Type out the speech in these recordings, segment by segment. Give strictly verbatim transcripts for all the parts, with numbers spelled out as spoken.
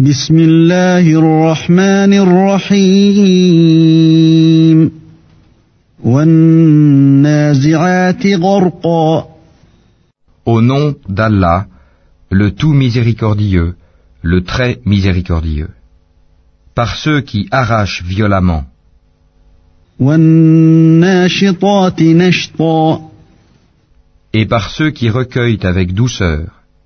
بسم الله الرحمن الرحيم والنازعات غرقا. Au nom d'Allah, le tout miséricordieux, le très miséricordieux. Par ceux qui arrachent violemment. والناشطات نشطا. Et par ceux qui recueillent avec douceur.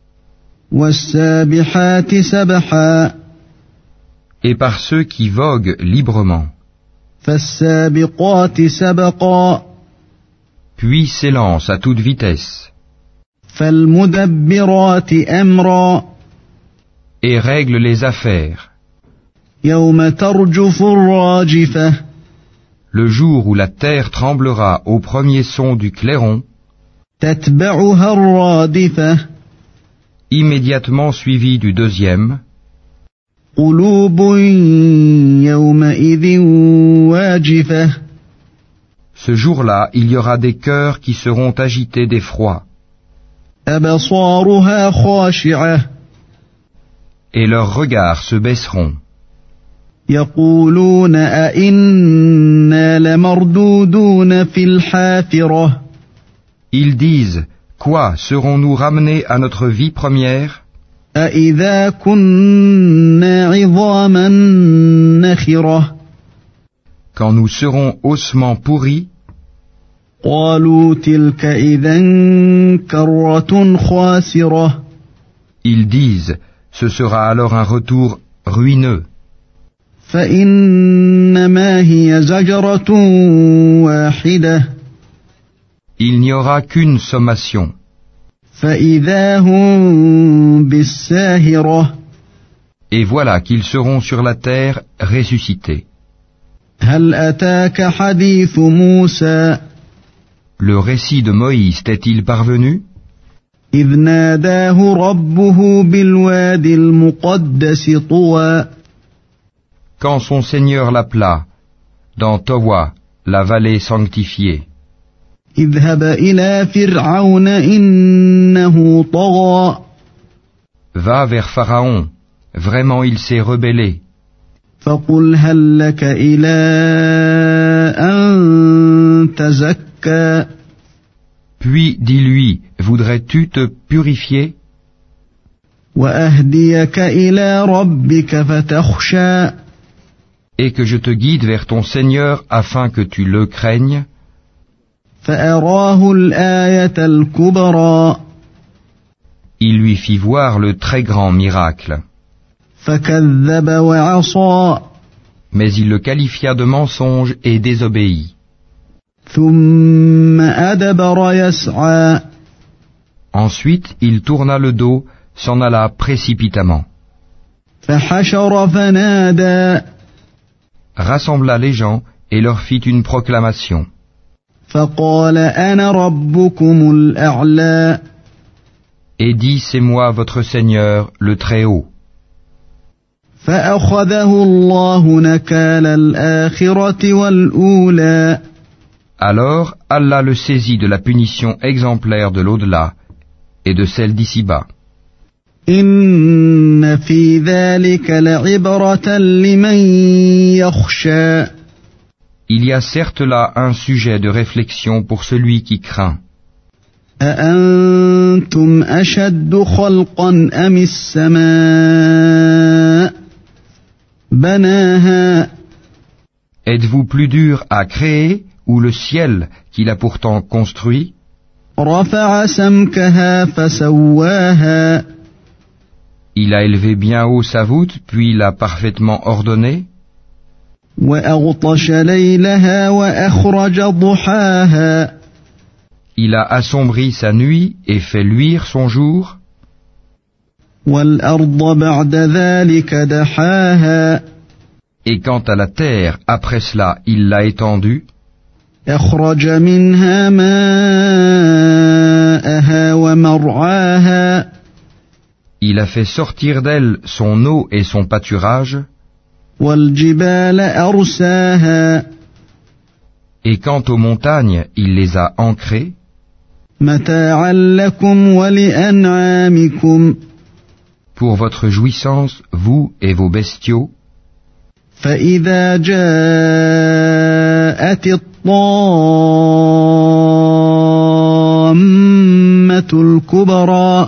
والسابحات سبحا. Et par ceux qui voguent librement. فالسابقات سبقا. Puis s'élancent à toute vitesse. فالمدبرات أمرا. Et règlent les affaires. يوم ترجف الراجفة. Le jour où la terre tremblera au premier son du clairon. تتبعها الرادفة. Immédiatement suivi du deuxième. قلوب يومئذ واجفة. Ce jour-là, il y aura des cœurs qui seront agités d'effroi. أبصارها خاشعة. Et leurs regards se baisseront. يقولون أئنا لمردودون في الحافرة. Ils disent, quoi, serons-nous ramenés à notre vie première? أإذا كنا عظاما نخرة. Quand nous serons ossements pourris? قالوا تلك إذا كرة خاسرة. Ils disent, ce sera alors un retour ruineux. فإنما هي زجرة واحدة. Il n'y aura qu'une sommation. فإذا هم بالساهرة. Et voilà qu'ils seront sur la terre ressuscités. هل أتاك حديث موسى. Le récit de Moïse t'est-il parvenu? إذ ناداه ربه بالوادي المقدس طوى. Quand son Seigneur l'appela, dans Towa, la vallée sanctifiée. اذهب إلى فرعون إنه طغى. Va vers Pharaon, vraiment il s'est rebellé. فقل هل لك إلى أن تزكى. Puis dis-lui, voudrais-tu te purifier? وأهديك إلى ربك فتخشى. Et que je te guide vers ton Seigneur afin que tu le craignes. فأراه الآية الكبرى. Il lui fit voir le très grand miracle. فكذب وعصى. Mais il le qualifia de mensonge et désobéit. ثم أدبر يسعى. Ensuite, il tourna le dos, s'en alla précipitamment. فحشر فنادى. Rassembla les gens et leur fit une proclamation. فقال أنا ربكم الأعلى. Et dit, c'est moi votre Seigneur, le Très-Haut. فأخذه الله نكال الآخرة والأولى. Alors Allah le saisit de la punition exemplaire de l'au-delà et de celle d'ici-bas. إن في ذلك لعبرة لمن يخشى. Il y a certes là un sujet de réflexion pour celui qui craint. أأنتم أشد خلقا أم السماء بناها. Êtes-vous plus dur à créer ou le ciel qu'il a pourtant construit? رفع سمكها فسواها. Il a élevé bien haut sa voûte, puis l'a parfaitement ordonnée. وأغطش ليلها وأخرج ضحاها. Il a assombri sa nuit et fait luire son jour. والأرض بعد ذلك دحاها. Et quant à la terre, après cela, il l'a étendue. أخرج منها ماءها ومرعاها. Il a fait sortir d'elle son eau et son pâturage. والجبال أرساها. Et quant aux montagnes, il les a ancrées. متاعا لكم ولأنعامكم. pour votre jouissance, vous et vos bestiaux, فإذا جاءت الطامة الكبرى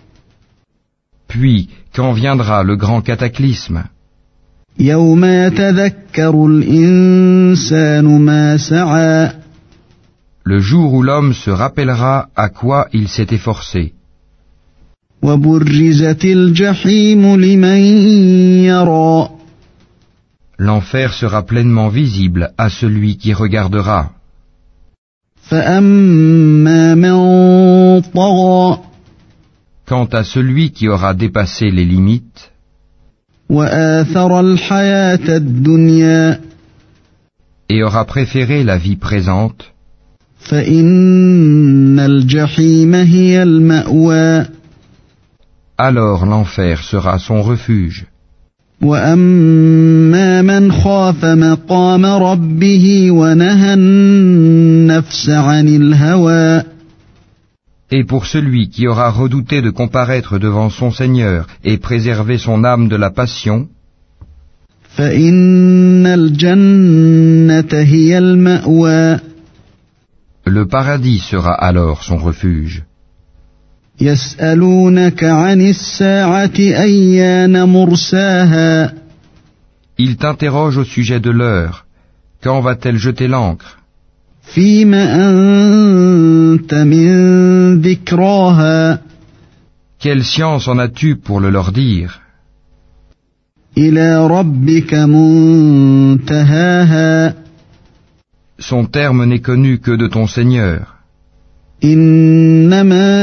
puis quand viendra le grand cataclysme, يوم يتذكر الإنسان ما سعى le jour où l'homme se rappellera à quoi il s'est efforcé, وبرزت الجحيم لمن يرى l'enfer sera pleinement visible à celui qui regardera. فأما من طغى Quant à celui qui aura dépassé les limites وآثر الحياة الدنيا et aura préféré la vie présente, فإن الجحيم هي المأوى alors l'enfer sera son refuge. وأما من خاف مقام ربه ونهى النفس عن الهوى Et pour celui qui aura redouté de comparaître devant son Seigneur et préserver son âme de la passion, فإن الجنة هي المأوى le paradis sera alors son refuge. يسألونك عن الساعة أيان مرساها Il t'interroge au sujet de l'heure. Quand va-t-elle jeter l'ancre? فيم أنت من ذكراها Quelle science en as-tu pour le leur dire? إلى ربك منتهاها Son terme n'est connu que de ton Seigneur. إنما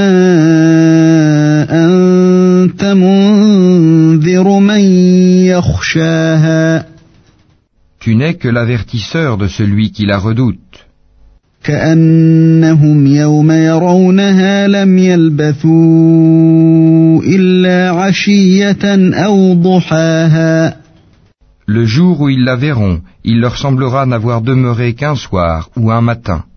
أنت منذر من يخشاها Tu n'es que l'avertisseur de celui qui la redoute. كأنهم يوم يرونها لم يلبثوا إلا عشية أو ضحاها Le jour où ils la verront, il leur semblera n'avoir demeuré qu'un soir ou un matin.